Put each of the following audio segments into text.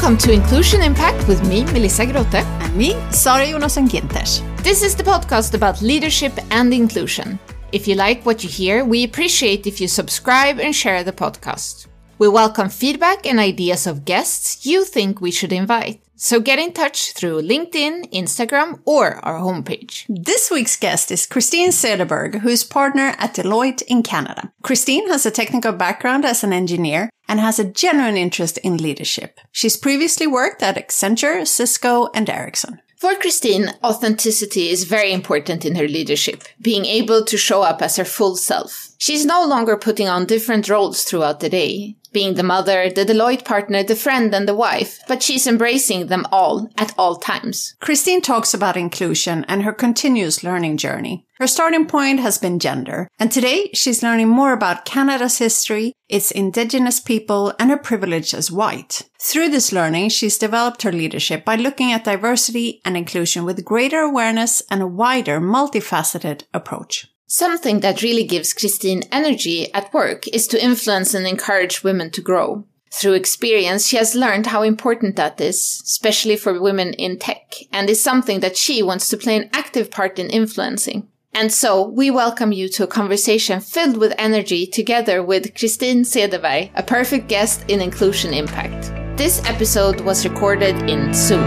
Welcome to Inclusion Impact with me, Melissa Grote. And me, Sara Jonasson Ginters. This is the podcast about leadership and inclusion. If you like what you hear, we appreciate if you subscribe and share the podcast. We welcome feedback and ideas of guests you think we should invite. So get in touch through LinkedIn, Instagram, or our homepage. This week's guest is Christine Cederberg, who is partner at Deloitte in Canada. Christine has a technical background as an engineer and has a genuine interest in leadership. She's previously worked at Accenture, Cisco, and Ericsson. For Christine, authenticity is very important in her leadership, being able to show up as her full self. She's no longer putting on different roles throughout the day, being the mother, the Deloitte partner, the friend, and the wife, but she's embracing them all at all times. Christine talks about inclusion and her continuous learning journey. Her starting point has been gender, and today she's learning more about Canada's history, its Indigenous people, and her privilege as white. Through this learning, she's developed her leadership by looking at diversity and inclusion with greater awareness and a wider, multifaceted approach. Something that really gives Christine energy at work is to influence and encourage women to grow. Through experience, she has learned how important that is, especially for women in tech, and is something that she wants to play an active part in influencing. And so, we welcome you to a conversation filled with energy together with Christine Cederberg, a perfect guest in Inclusion Impact. This episode was recorded in Zoom.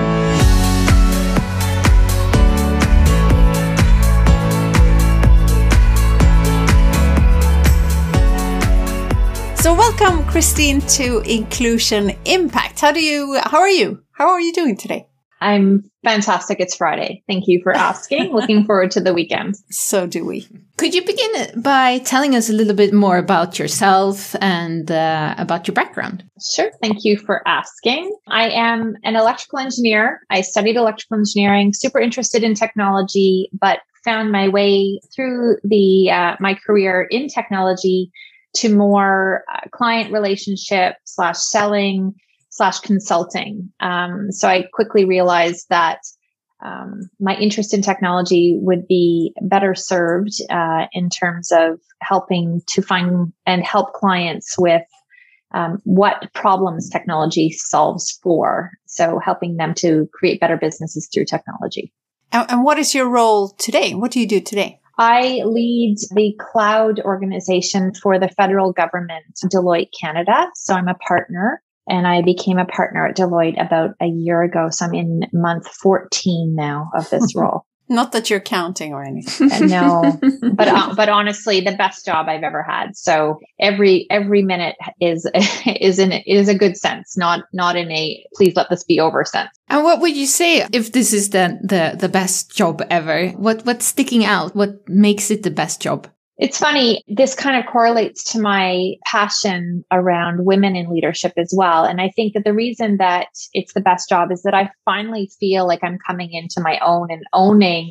So welcome, Christine, to Inclusion Impact. How are you? How are you doing today? I'm fantastic. It's Friday. Thank you for asking. Looking forward to the weekend. So do we. Could you begin by telling us a little bit more about yourself and about your background? Sure. Thank you for asking. I am an electrical engineer. I studied electrical engineering, super interested in technology, but found my way through my career in technology to more client relationship / selling / consulting. So I quickly realized that my interest in technology would be better served in terms of helping to find and help clients with what problems technology solves for. So helping them to create better businesses through technology. And what is your role today? What do you do today? I lead the cloud organization for the federal government, Deloitte Canada. So I'm a partner, and I became a partner at Deloitte about a year ago. So I'm in month 14 now of this role. Not that you're counting or anything. No, but honestly, the best job I've ever had. So every minute is a good sense, not in a please let this be over sense. And what would you say if this is the best job ever? What's sticking out? What makes it the best job? It's funny. This kind of correlates to my passion around women in leadership as well. And I think that the reason that it's the best job is that I finally feel like I'm coming into my own and owning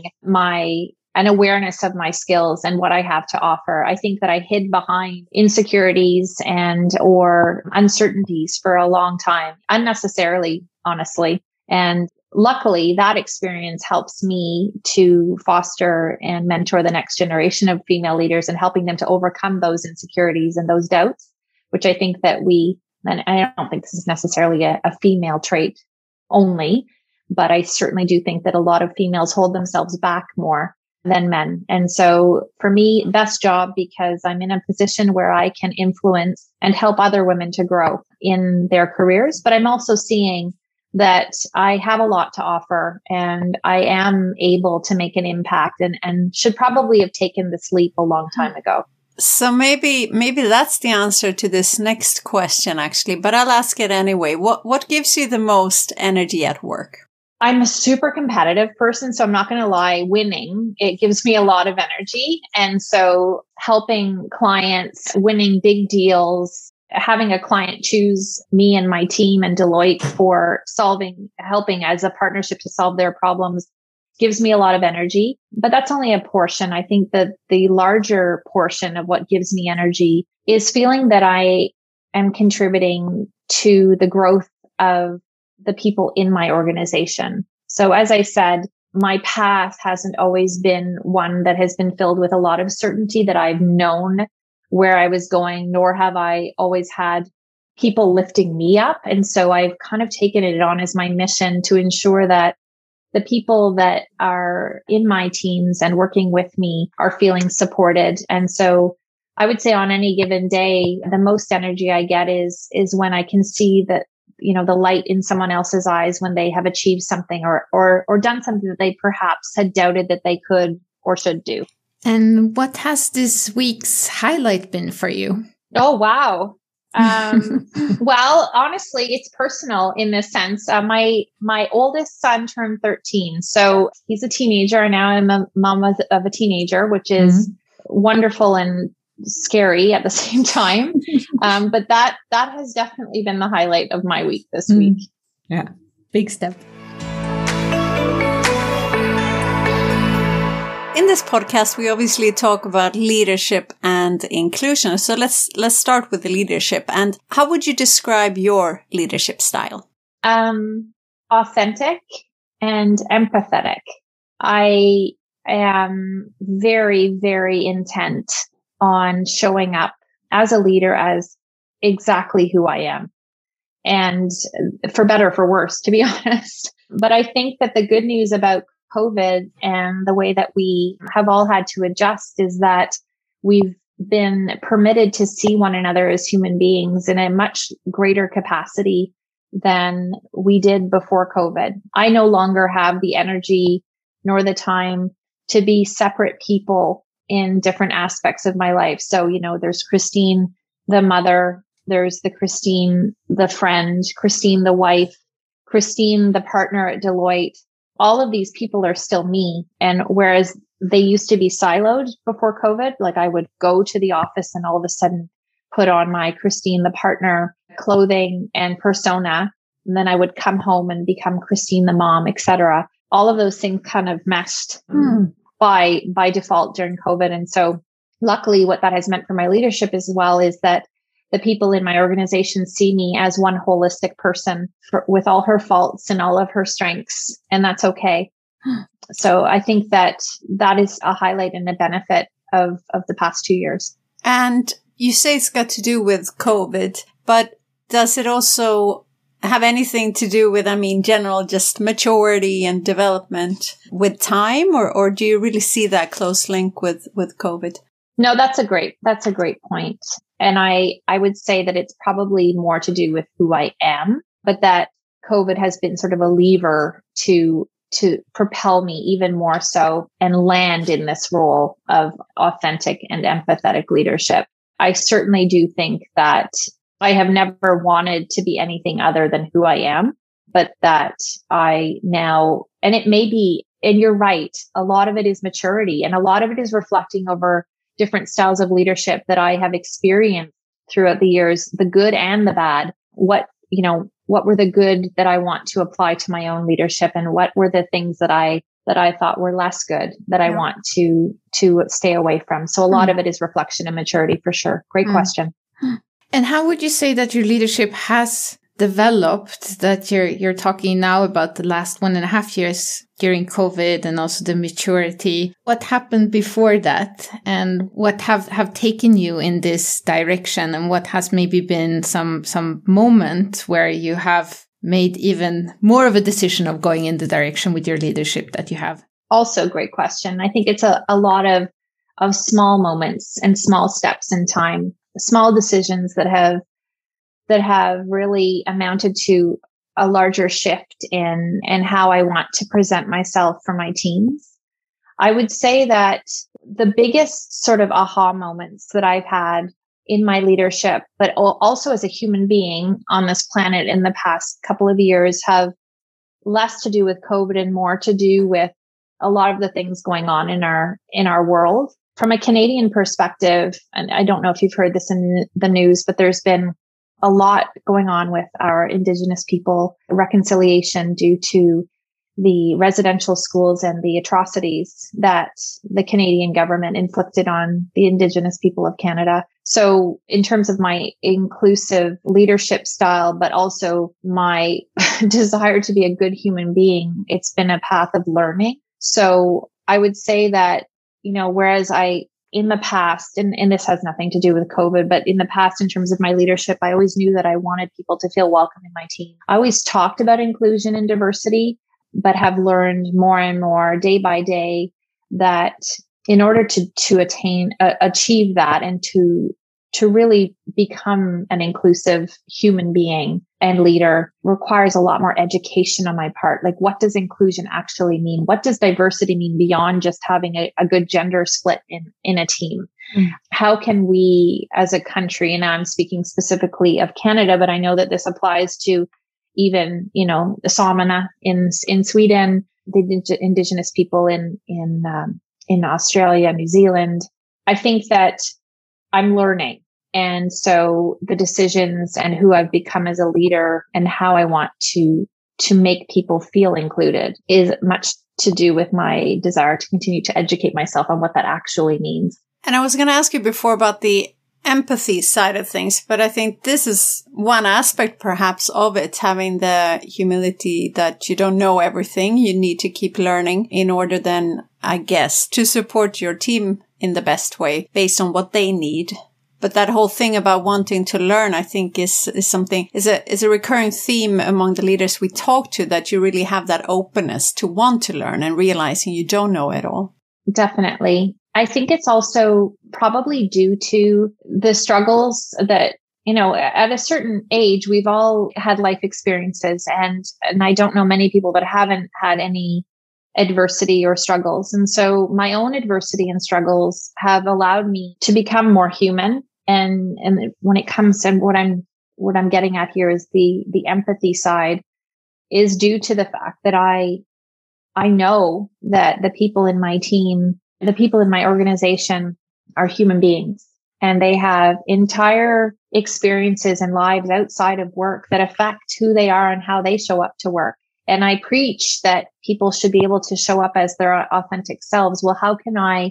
an awareness of my skills and what I have to offer. I think that I hid behind insecurities or uncertainties for a long time, unnecessarily, honestly. And luckily, that experience helps me to foster and mentor the next generation of female leaders and helping them to overcome those insecurities and those doubts, which I think that and I don't think this is necessarily a female trait only, but I certainly do think that a lot of females hold themselves back more than men. And so for me, best job because I'm in a position where I can influence and help other women to grow in their careers, but I'm also seeing that I have a lot to offer and I am able to make an impact and should probably have taken this leap a long time ago. So maybe that's the answer to this next question, actually, but I'll ask it anyway. What gives you the most energy at work? I'm a super competitive person, so I'm not going to lie, winning, it gives me a lot of energy. And so helping clients, winning big deals, having a client choose me and my team and Deloitte for helping as a partnership to solve their problems gives me a lot of energy, but that's only a portion. I think that the larger portion of what gives me energy is feeling that I am contributing to the growth of the people in my organization. So as I said, my path hasn't always been one that has been filled with a lot of certainty that I've known where I was going, nor have I always had people lifting me up. And so I've kind of taken it on as my mission to ensure that the people that are in my teams and working with me are feeling supported. And so I would say on any given day, the most energy I get is when I can see that, the light in someone else's eyes when they have achieved something or done something that they perhaps had doubted that they could or should do. And what has this week's highlight been for you? Oh, wow. Well, honestly, it's personal in this sense. My oldest son turned 13. So he's a teenager, and now I'm a mom of a teenager, which is wonderful and scary at the same time. But that has definitely been the highlight of my week this week. Yeah. Big step. In this podcast, we obviously talk about leadership and inclusion. So let's start with the leadership. And how would you describe your leadership style? Authentic and empathetic. I am very, very intent on showing up as a leader as exactly who I am. And for better or for worse, to be honest. But I think that the good news about COVID and the way that we have all had to adjust is that we've been permitted to see one another as human beings in a much greater capacity than we did before COVID. I no longer have the energy nor the time to be separate people in different aspects of my life. So, there's Christine, the mother, there's the Christine, the friend, Christine, the wife, Christine, the partner at Deloitte. All of these people are still me. And whereas they used to be siloed before COVID, like I would go to the office and all of a sudden put on my Christine, the partner clothing and persona. And then I would come home and become Christine, the mom, etc. All of those things kind of meshed by default during COVID. And so luckily what that has meant for my leadership as well is that the people in my organization see me as one holistic person with all her faults and all of her strengths. And that's okay. So I think that is a highlight and a benefit of the past 2 years. And you say it's got to do with COVID, but does it also have anything to do with, general just maturity and development with time, or do you really see that close link with COVID? No, that's a great point. And I would say that it's probably more to do with who I am, but that COVID has been sort of a lever to propel me even more so and land in this role of authentic and empathetic leadership. I certainly do think that I have never wanted to be anything other than who I am, but that I now, and it may be, and you're right, a lot of it is maturity and a lot of it is reflecting over different styles of leadership that I have experienced throughout the years, the good and the bad. What were the good that I want to apply to my own leadership, and what were the things that I thought were less good that I want to stay away from. So a lot of it is reflection and maturity for sure. Great question. And how would you say that your leadership has developed, that you're talking now about the last 1.5 years during COVID and also the maturity? What happened before that, and what have taken you in this direction, and what has maybe been some moment where you have made even more of a decision of going in the direction with your leadership that you have? Also, great question. I think it's a lot of small moments and small steps in time, small decisions that have really amounted to a larger shift in how I want to present myself for my teams. I would say that the biggest sort of aha moments that I've had in my leadership, but also as a human being on this planet in the past couple of years, have less to do with COVID and more to do with a lot of the things going on in our world. From a Canadian perspective, and I don't know if you've heard this in the news, but there's been a lot going on with our Indigenous people reconciliation due to the residential schools and the atrocities that the Canadian government inflicted on the Indigenous people of Canada. So in terms of my inclusive leadership style, but also my desire to be a good human being, it's been a path of learning. So I would say that, whereas I in the past, and this has nothing to do with COVID, but in the past, in terms of my leadership, I always knew that I wanted people to feel welcome in my team. I always talked about inclusion and diversity, but have learned more and more day by day that in order to achieve that and to really become an inclusive human being and leader requires a lot more education on my part. Like, what does inclusion actually mean? What does diversity mean beyond just having a good gender split in a team? Mm. How can we as a country, and I'm speaking specifically of Canada, but I know that this applies to even, the Samana in Sweden, the Indigenous people in Australia, New Zealand. I think that I'm learning. And so the decisions and who I've become as a leader and how I want to make people feel included is much to do with my desire to continue to educate myself on what that actually means. And I was going to ask you before about the empathy side of things, but I think this is one aspect perhaps of it, having the humility that you don't know everything. You need to keep learning in order then, I guess, to support your team in the best way based on what they need. But that whole thing about wanting to learn, I think is a recurring theme among the leaders we talk to, that you really have that openness to want to learn and realizing you don't know it all. Definitely. I think it's also probably due to the struggles that, at a certain age, we've all had life experiences, and I don't know many people that haven't had any adversity or struggles. And so my own adversity and struggles have allowed me to become more human. And when it comes to what I'm getting at here is the empathy side is due to the fact that I know that the people in my team, the people in my organization are human beings, and they have entire experiences and lives outside of work that affect who they are and how they show up to work. And I preach that people should be able to show up as their authentic selves. Well, how can I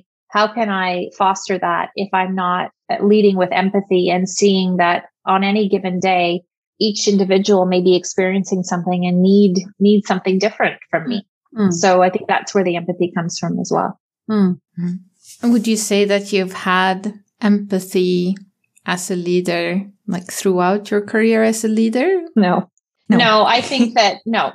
foster that if I'm not leading with empathy and seeing that on any given day, each individual may be experiencing something and need something different from me. Mm. So I think that's where the empathy comes from as well. Mm. Would you say that you've had empathy as a leader, like throughout your career as a leader? No, I think that no.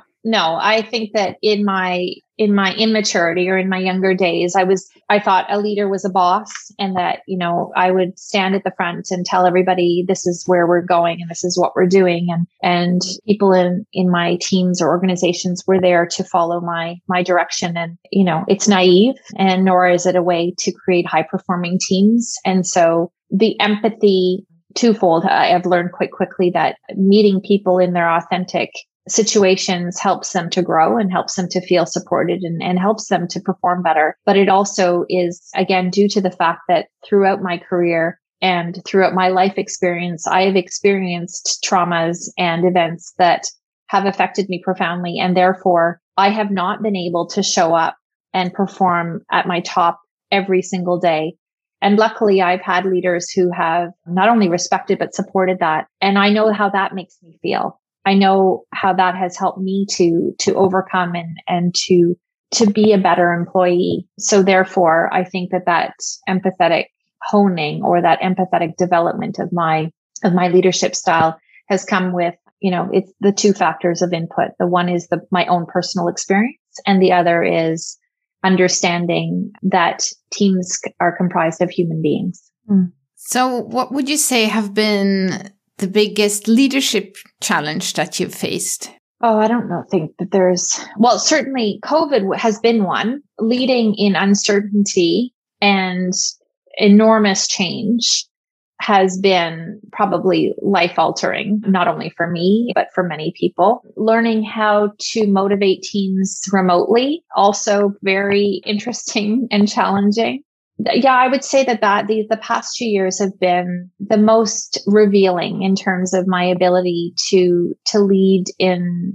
I think that in my immaturity or in my younger days, I thought a leader was a boss, and that, I would stand at the front and tell everybody this is where we're going and this is what we're doing. And people in my teams or organizations were there to follow my direction. And, it's naive, and nor is it a way to create high performing teams. And so the empathy twofold, I have learned quite quickly that meeting people in their authentic situations helps them to grow and helps them to feel supported and helps them to perform better. But it also is, again, due to the fact that throughout my career and throughout my life experience, I have experienced traumas and events that have affected me profoundly. And therefore, I have not been able to show up and perform at my top every single day. And luckily, I've had leaders who have not only respected, but supported that. And I know how that makes me feel. I know how that has helped me to overcome and to be a better employee. So therefore, I think that empathetic honing or that empathetic development of my leadership style has come with, it's the two factors of input. The one is my own personal experience, and the other is understanding that teams are comprised of human beings. Mm. So what would you say have been the biggest leadership challenge that you've faced? Oh, I don't think that certainly COVID has been one. Leading in uncertainty and enormous change has been probably life altering, not only for me, but for many people. Learning how to motivate teams remotely, also very interesting and challenging. Yeah, I would say that the past 2 years have been the most revealing in terms of my ability to lead in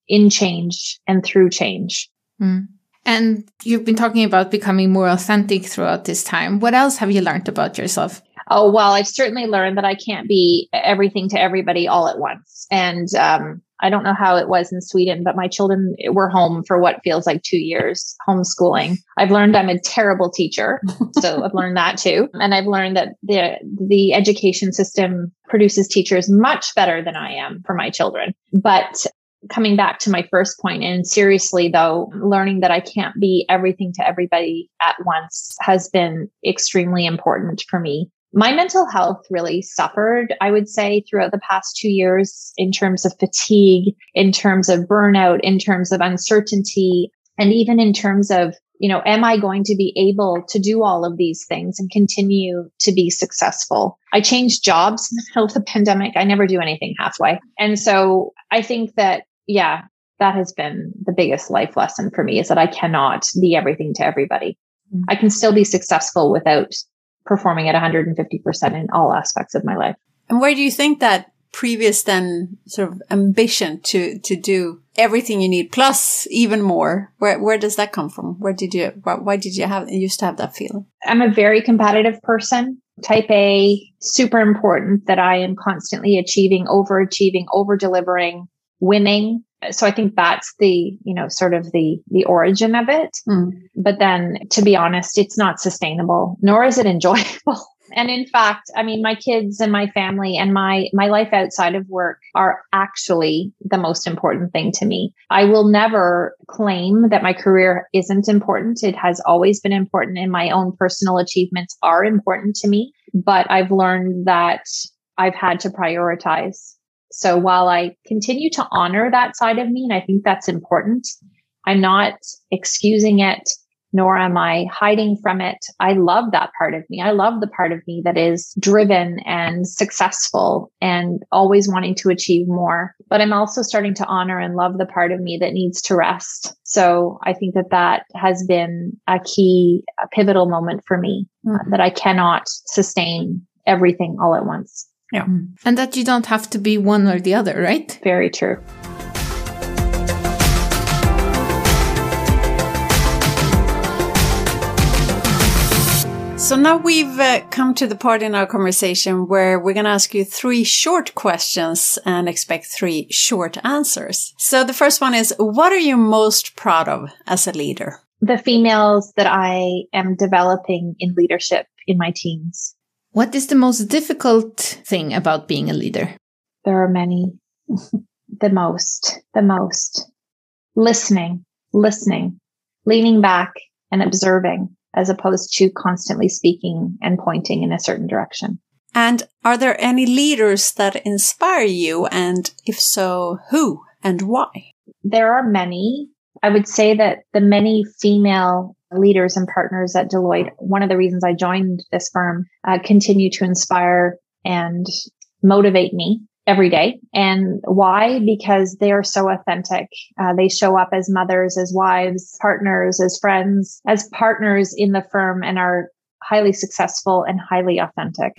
change and through change. Mm. And you've been talking about becoming more authentic throughout this time. What else have you learned about yourself? Oh, well, I've certainly learned that I can't be everything to everybody all at once. And I don't know how it was in Sweden, but my children were home for what feels like 2 years homeschooling. I've learned I'm a terrible teacher. So I've learned that too. And I've learned that the education system produces teachers much better than I am for my children. But coming back to my first point, and seriously though, learning that I can't be everything to everybody at once has been extremely important for me. My mental health really suffered, I would say, throughout the past 2 years in terms of fatigue, in terms of burnout, in terms of uncertainty, and even in terms of, am I going to be able to do all of these things and continue to be successful? I changed jobs in the middle of the pandemic. I never do anything halfway. And so I think that, that has been the biggest life lesson for me, is that I cannot be everything to everybody. I can still be successful without performing at 150% in all aspects of my life. And where do you think that previous then sort of ambition to do everything you need plus even more, where does that come from? Why did you used to have that feeling? I'm a very competitive person. Type A, super important that I am constantly achieving, over delivering, winning. So I think that's the, sort of the origin of it. But then, to be honest, it's not sustainable, nor is it enjoyable. And in fact, I mean, my kids and my family and my life outside of work are actually the most important thing to me. I will never claim that my career isn't important. It has always been important, and my own personal achievements are important to me. But I've learned that I've had to prioritize. So while I continue to honor that side of me, and I think that's important, I'm not excusing it, nor am I hiding from it. I love that part of me. I love the part of me that is driven and successful and always wanting to achieve more. But I'm also starting to honor and love the part of me that needs to rest. So I think that has been a pivotal moment for me, that I cannot sustain everything all at once. Yeah. And that you don't have to be one or the other, right? Very true. So now we've come to the part in our conversation where we're going to ask you 3 short questions and expect 3 short answers. So the first one is, what are you most proud of as a leader? The females that I am developing in leadership in my teams. What is the most difficult thing about being a leader? There are many. The most. Listening, leaning back and observing, as opposed to constantly speaking and pointing in a certain direction. And are there any leaders that inspire you? And if so, who and why? There are many. I would say that the many female leaders and partners at Deloitte, one of the reasons I joined this firm, continue to inspire and motivate me every day. And why? Because they are so authentic. They show up as mothers, as wives, partners, as friends, as partners in the firm, and are highly successful and highly authentic.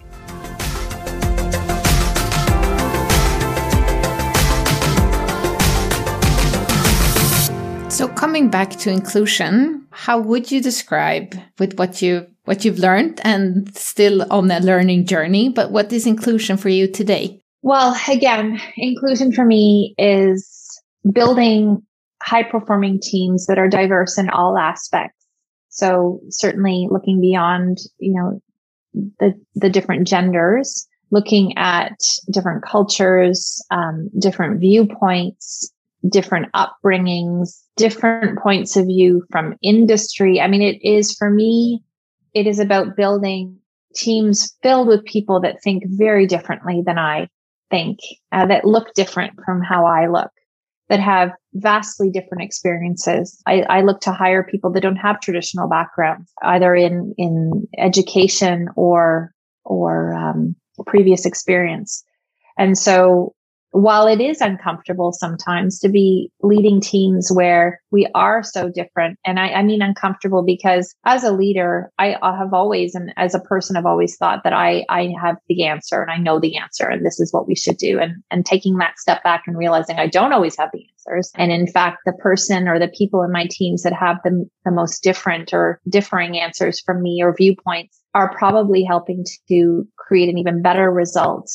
So coming back to inclusion, how would you describe with what you've learned and still on a learning journey, but what is inclusion for you today? Well, again, inclusion for me is building high-performing teams that are diverse in all aspects. So certainly looking beyond, the different genders, looking at different cultures, different viewpoints, different upbringings, different points of view from industry. I mean, it is about building teams filled with people that think very differently than I think, that look different from how I look, that have vastly different experiences. I look to hire people that don't have traditional backgrounds, either in education or previous experience. And so while it is uncomfortable sometimes to be leading teams where we are so different, and I mean uncomfortable because as a leader, I have always, and as a person, I've always thought that I have the answer and I know the answer and this is what we should do. And taking that step back and realizing I don't always have the answers. And in fact, the person or the people in my teams that have the most different or differing answers from me or viewpoints are probably helping to create an even better result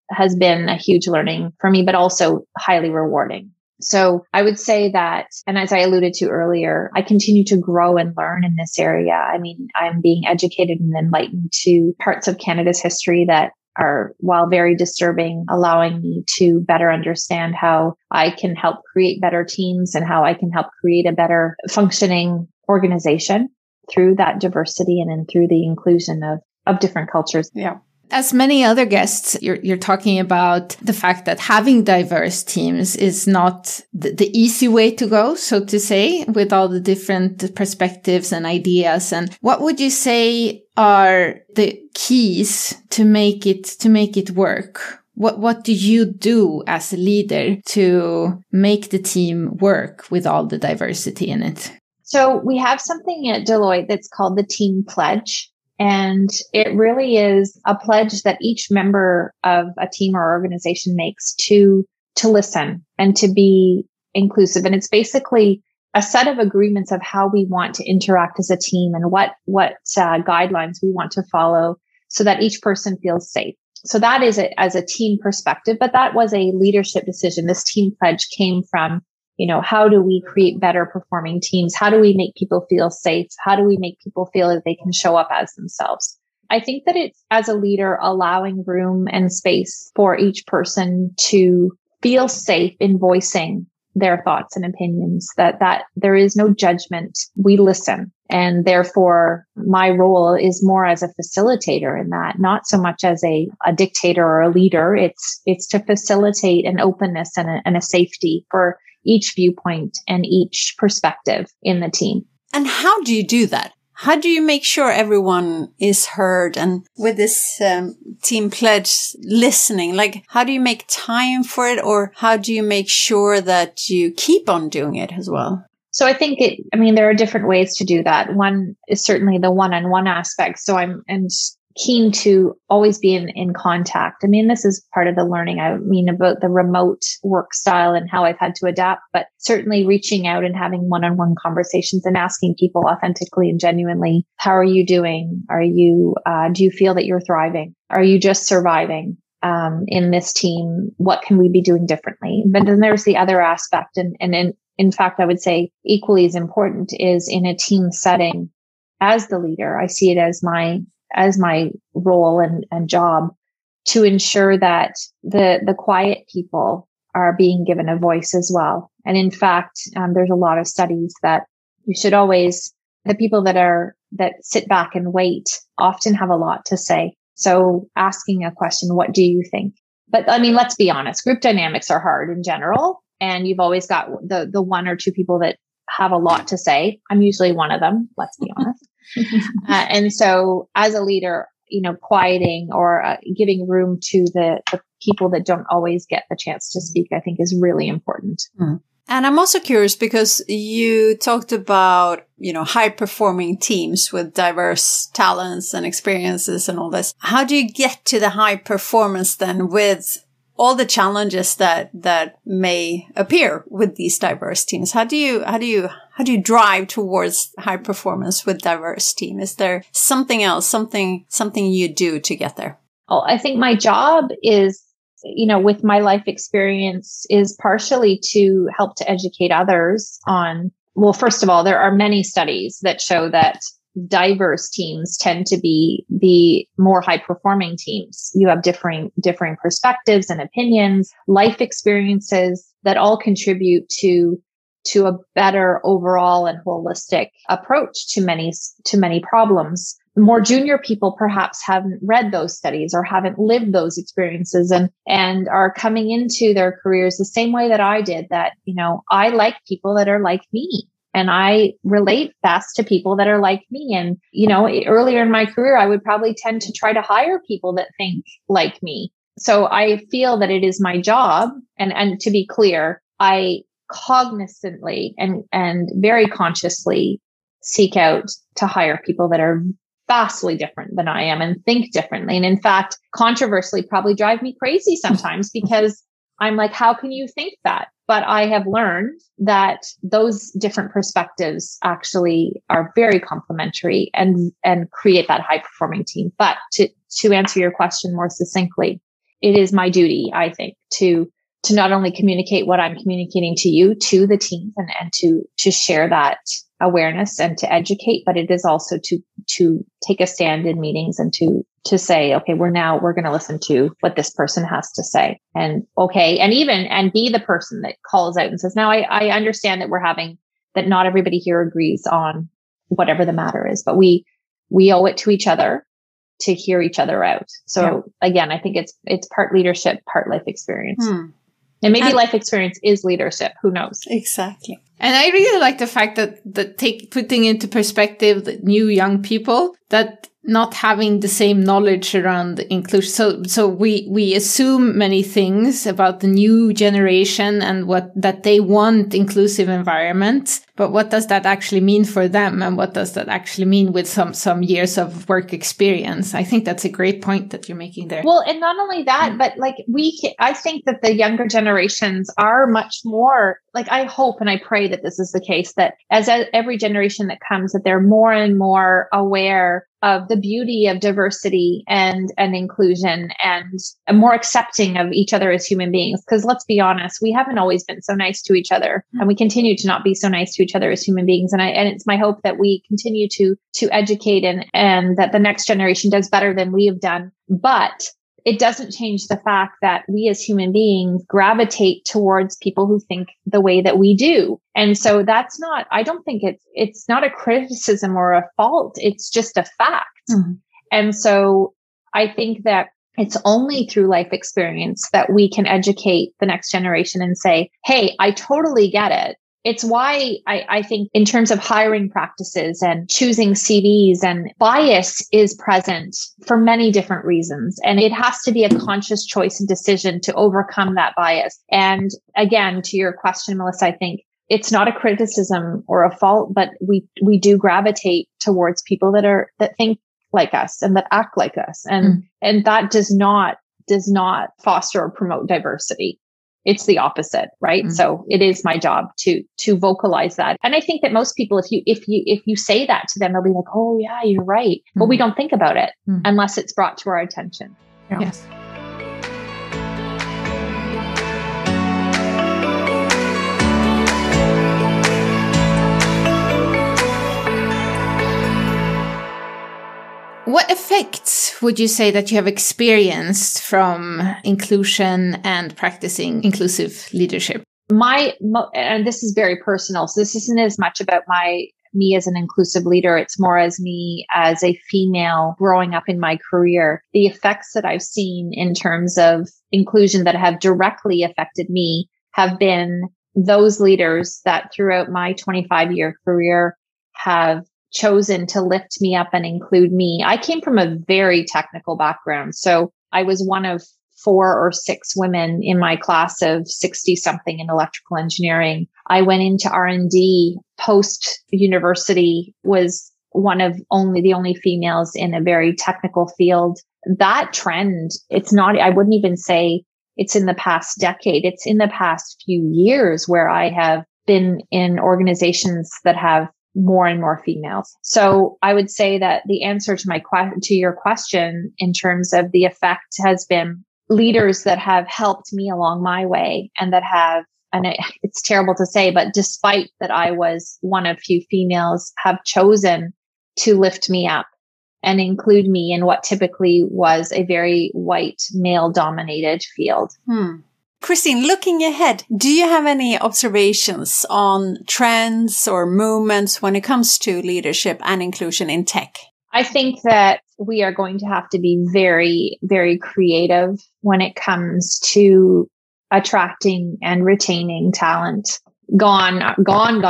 has been a huge learning for me, but also highly rewarding. So I would say that, and as I alluded to earlier, I continue to grow and learn in this area. I mean, I'm being educated and enlightened to parts of Canada's history that are, while very disturbing, allowing me to better understand how I can help create better teams and how I can help create a better functioning organization through that diversity and then through the inclusion of different cultures. Yeah. As many other guests, you're talking about the fact that having diverse teams is not the easy way to go, so to say, with all the different perspectives and ideas. And what would you say are the keys to make it work? What do you do as a leader to make the team work with all the diversity in it? So we have something at Deloitte that's called the Team Pledge. And it really is a pledge that each member of a team or organization makes to listen and to be inclusive. And it's basically a set of agreements of how we want to interact as a team and what guidelines we want to follow so that each person feels safe. So that is it as a team perspective, but that was a leadership decision. This team pledge came from, how do we create better performing teams? How do we make people feel safe? How do we make people feel that they can show up as themselves? I think that it's, as a leader, allowing room and space for each person to feel safe in voicing their thoughts and opinions, that there is no judgment. We listen. And therefore, my role is more as a facilitator in that, not so much as a dictator or a leader. It's to facilitate an openness and a safety for each viewpoint and each perspective in the team. And how do you do that? How do you make sure everyone is heard? And with this team pledge listening, how do you make time for it? Or how do you make sure that you keep on doing it as well? So I think there are different ways to do that. One is certainly the one-on-one aspect. So I'm keen to always be in contact. This is part of the learning. About the remote work style and how I've had to adapt, but certainly reaching out and having one-on-one conversations and asking people authentically and genuinely, how are you doing? Do you feel that you're thriving? Are you just surviving? In this team, what can we be doing differently? But then there's the other aspect. And in fact, I would say equally as important is in a team setting as the leader. I see it as my role and job to ensure that the quiet people are being given a voice as well. And in fact, there's a lot of studies that you should always, the people that sit back and wait often have a lot to say. So asking a question, what do you think? But let's be honest, group dynamics are hard in general. And you've always got the one or two people that have a lot to say. I'm usually one of them, let's be honest. And so as a leader, quieting or giving room to the people that don't always get the chance to speak, I think is really important. Mm. And I'm also curious because you talked about, high performing teams with diverse talents and experiences and all this. How do you get to the high performance then with all the challenges that may appear with these diverse teams? How do you drive towards high performance with diverse team? Is there something else, something you do to get there? Well, I think my job is, with my life experience, is partially to help to educate others on, well, first of all, there are many studies that show that diverse teams tend to be the more high performing teams. You have differing perspectives and opinions, life experiences that all contribute to a better overall and holistic approach to many problems. More junior people perhaps haven't read those studies or haven't lived those experiences and are coming into their careers the same way that I did, that, I like people that are like me. And I relate best to people that are like me. And, earlier in my career, I would probably tend to try to hire people that think like me. So I feel that it is my job. And to be clear, I cognizantly and very consciously seek out to hire people that are vastly different than I am and think differently. And in fact, controversially, probably drive me crazy sometimes because I'm like, how can you think that? But I have learned that those different perspectives actually are very complementary and create that high performing team. But to answer your question more succinctly, it is my duty, I think, to not only communicate what I'm communicating to you, to the team, and to share that awareness and to educate, but it is also to take a stand in meetings and to say, okay, we're going to listen to what this person has to say. And okay. And be the person that calls out and says, now I understand that not everybody here agrees on whatever the matter is, but we owe it to each other to hear each other out. So again, I think it's part leadership, part life experience. And maybe life experience is leadership. Who knows? Exactly. And I really like the fact that putting into perspective the new young people, that not having the same knowledge around inclusion. So we assume many things about the new generation and that they want inclusive environments. But what does that actually mean for them? And what does that actually mean with some years of work experience? I think that's a great point that you're making there. Well, and not only that, but like I think that the younger generations are much more, like, I hope and I pray that this is the case, that as every generation that comes, that they're more and more aware of the beauty of diversity and inclusion, and more accepting of each other as human beings. Because let's be honest, we haven't always been so nice to each other, and we continue to not be so nice to each other as human beings. And it's my hope that we continue to educate and that the next generation does better than we have done. But it doesn't change the fact that we as human beings gravitate towards people who think the way that we do. And so I don't think it's not a criticism or a fault. It's just a fact. Mm-hmm. And so I think that it's only through life experience that we can educate the next generation and say, hey, I totally get it. It's why I think in terms of hiring practices and choosing CVs, and bias is present for many different reasons. And it has to be a conscious choice and decision to overcome that bias. And again, to your question, Melissa, I think it's not a criticism or a fault, but we do gravitate towards people that think like us and that act like us. And that does not foster or promote diversity. It's the opposite, right? Mm-hmm. So it is my job to vocalize that. And I think that most people, if you say that to them, they'll be like, oh yeah, you're right. But we don't think about it unless it's brought to our attention. Yeah. Yes. What effects would you say that you have experienced from inclusion and practicing inclusive leadership? And this is very personal, so this isn't as much about me as an inclusive leader. It's more as me as a female growing up in my career. The effects that I've seen in terms of inclusion that have directly affected me have been those leaders that throughout my 25-year career have chosen to lift me up and include me. I came from a very technical background. So I was one of 4 or 6 women in my class of 60 something in electrical engineering. I went into R&D post university, was the only females in a very technical field. That trend, I wouldn't even say it's in the past decade. It's in the past few years where I have been in organizations that have more and more females. So I would say that the answer to your question in terms of the effect has been leaders that have helped me along my way, and that have, and it's terrible to say, but despite that I was one of few females, have chosen to lift me up and include me in what typically was a very white, male-dominated field. Christine, looking ahead, do you have any observations on trends or movements when it comes to leadership and inclusion in tech? I think that we are going to have to be very, very creative when it comes to attracting and retaining talent. Gone are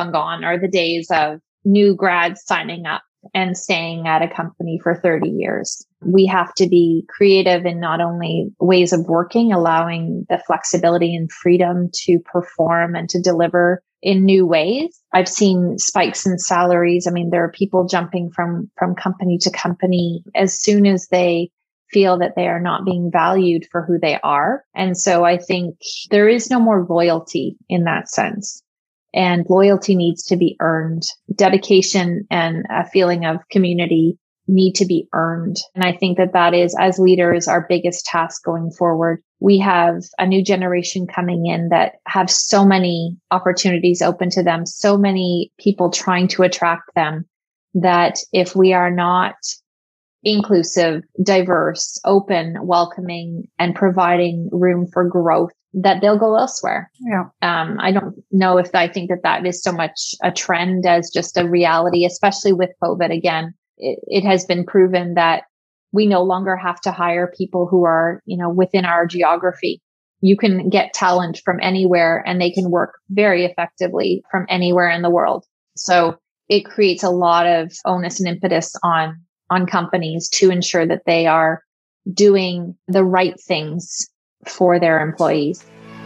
the days of new grads signing up and staying at a company for 30 years. We have to be creative in not only ways of working, allowing the flexibility and freedom to perform and to deliver in new ways. I've seen spikes in salaries. I mean, there are people jumping from company to company as soon as they feel that they are not being valued for who they are. And so I think there is no more loyalty in that sense. And loyalty needs to be earned. Dedication and a feeling of community need to be earned. And I think that that is, as leaders, our biggest task going forward. We have a new generation coming in that have so many opportunities open to them, so many people trying to attract them, that if we are not inclusive, diverse, open, welcoming, and providing room for growth, that they'll go elsewhere. Yeah. I don't know if I think that that is so much a trend as just a reality, especially with COVID. Again, it has been proven that we no longer have to hire people who are, within our geography. You can get talent from anywhere and they can work very effectively from anywhere in the world. So it creates a lot of onus and impetus on companies to ensure that they are doing the right things for their employees.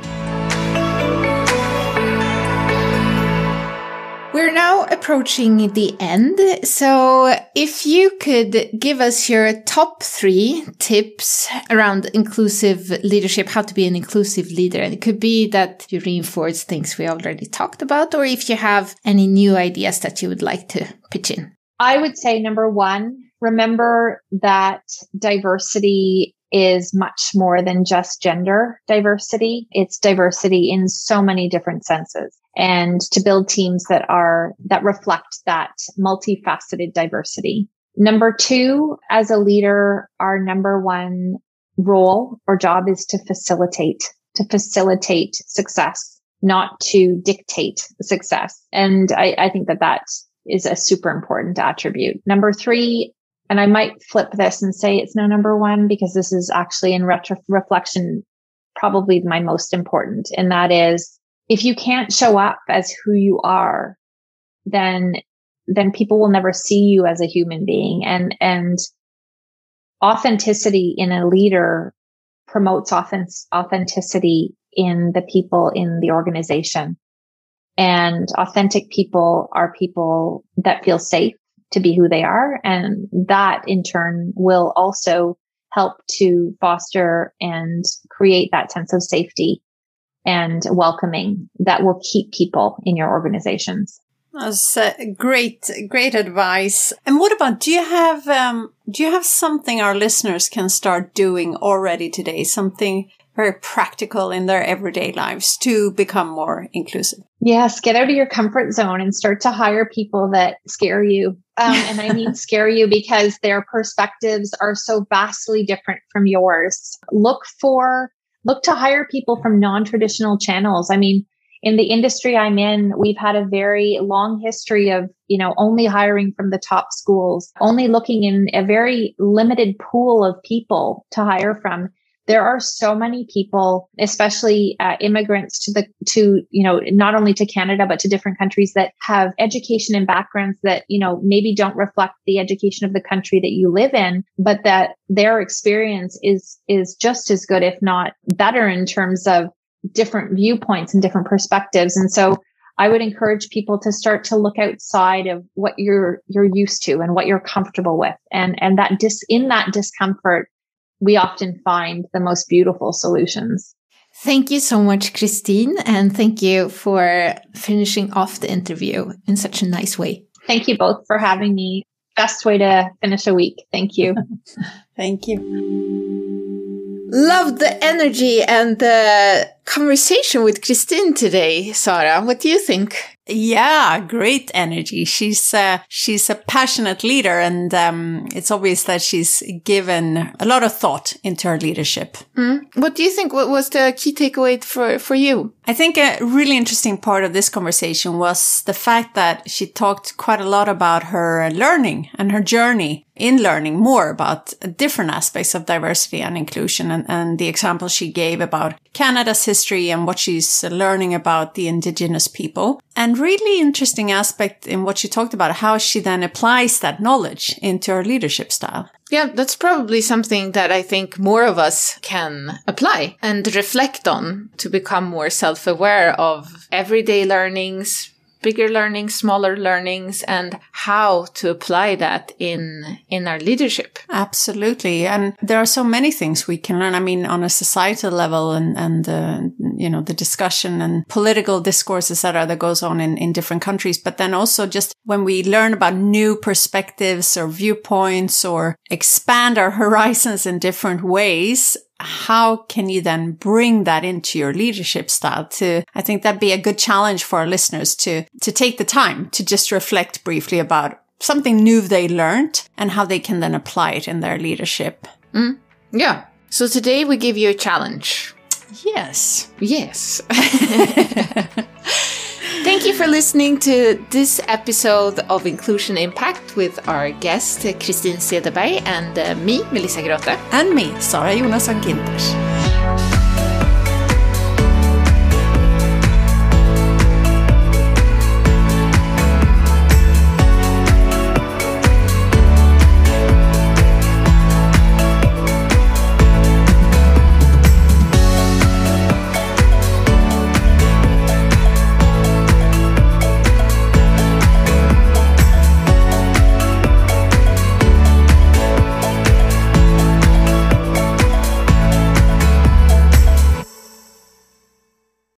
We're now approaching the end. So if you could give us your top 3 tips around inclusive leadership, how to be an inclusive leader. And it could be that you reinforce things we already talked about, or if you have any new ideas that you would like to pitch in. I would say number 1, remember that diversity is much more than just gender diversity. It's diversity in so many different senses, and to build teams that reflect that multifaceted diversity. Number 2, as a leader, our number 1 role or job is to facilitate success, not to dictate success. And I think that is a super important attribute. Number 3, and I might flip this and say it's no number 1, because this is actually in reflection, probably my most important. And that is, if you can't show up as who you are, then people will never see you as a human being. And authenticity in a leader promotes authenticity in the people in the organization. And authentic people are people that feel safe to be who they are. And that in turn will also help to foster and create that sense of safety and welcoming that will keep people in your organizations. That's great advice. And what about, do you have something our listeners can start doing already today? Something very practical in their everyday lives to become more inclusive? Yes, get out of your comfort zone and start to hire people that scare you. And I mean scare you because their perspectives are so vastly different from yours. Look to hire people from non-traditional channels. I mean, in the industry I'm in, we've had a very long history of, only hiring from the top schools, only looking in a very limited pool of people to hire from. There are so many people, especially immigrants to not only to Canada, but to different countries that have education and backgrounds that, maybe don't reflect the education of the country that you live in, but that their experience is just as good, if not better, in terms of different viewpoints and different perspectives. And so I would encourage people to start to look outside of what you're used to and what you're comfortable with. And that in that discomfort, we often find the most beautiful solutions. Thank you so much, Christine. And thank you for finishing off the interview in such a nice way. Thank you both for having me. Best way to finish a week. Thank you. Thank you. Loved the energy and the conversation with Christine today, Sara. What do you think? Yeah, great energy. She's a passionate leader, and it's obvious that she's given a lot of thought into her leadership. What do you think? What was the key takeaway for you? I think a really interesting part of this conversation was the fact that she talked quite a lot about her learning and her journey in learning more about different aspects of diversity and inclusion, and the example she gave about Canada's history and what she's learning about the Indigenous people. And really interesting aspect in what she talked about, how she then applies that knowledge into her leadership style. Yeah, that's probably something that I think more of us can apply and reflect on to become more self-aware of everyday learnings, bigger learnings, smaller learnings, and how to apply that in our leadership. Absolutely. And there are so many things we can learn. I mean, on a societal level and and, you know, the discussion and political discourse, etc., that goes on in different countries. But then also just when we learn about new perspectives or viewpoints or expand our horizons in different ways, how can you then bring that into your leadership style? I think that'd be a good challenge for our listeners to take the time to just reflect briefly about something new they learned and how they can then apply it in their leadership. Yeah. So today we give you a challenge. Yes. Yes. Thank you for listening to this episode of Inclusion Impact with our guest, Kristin Cederberg, and me, Melissa Grote. And me, Sara Jonasson Ginters.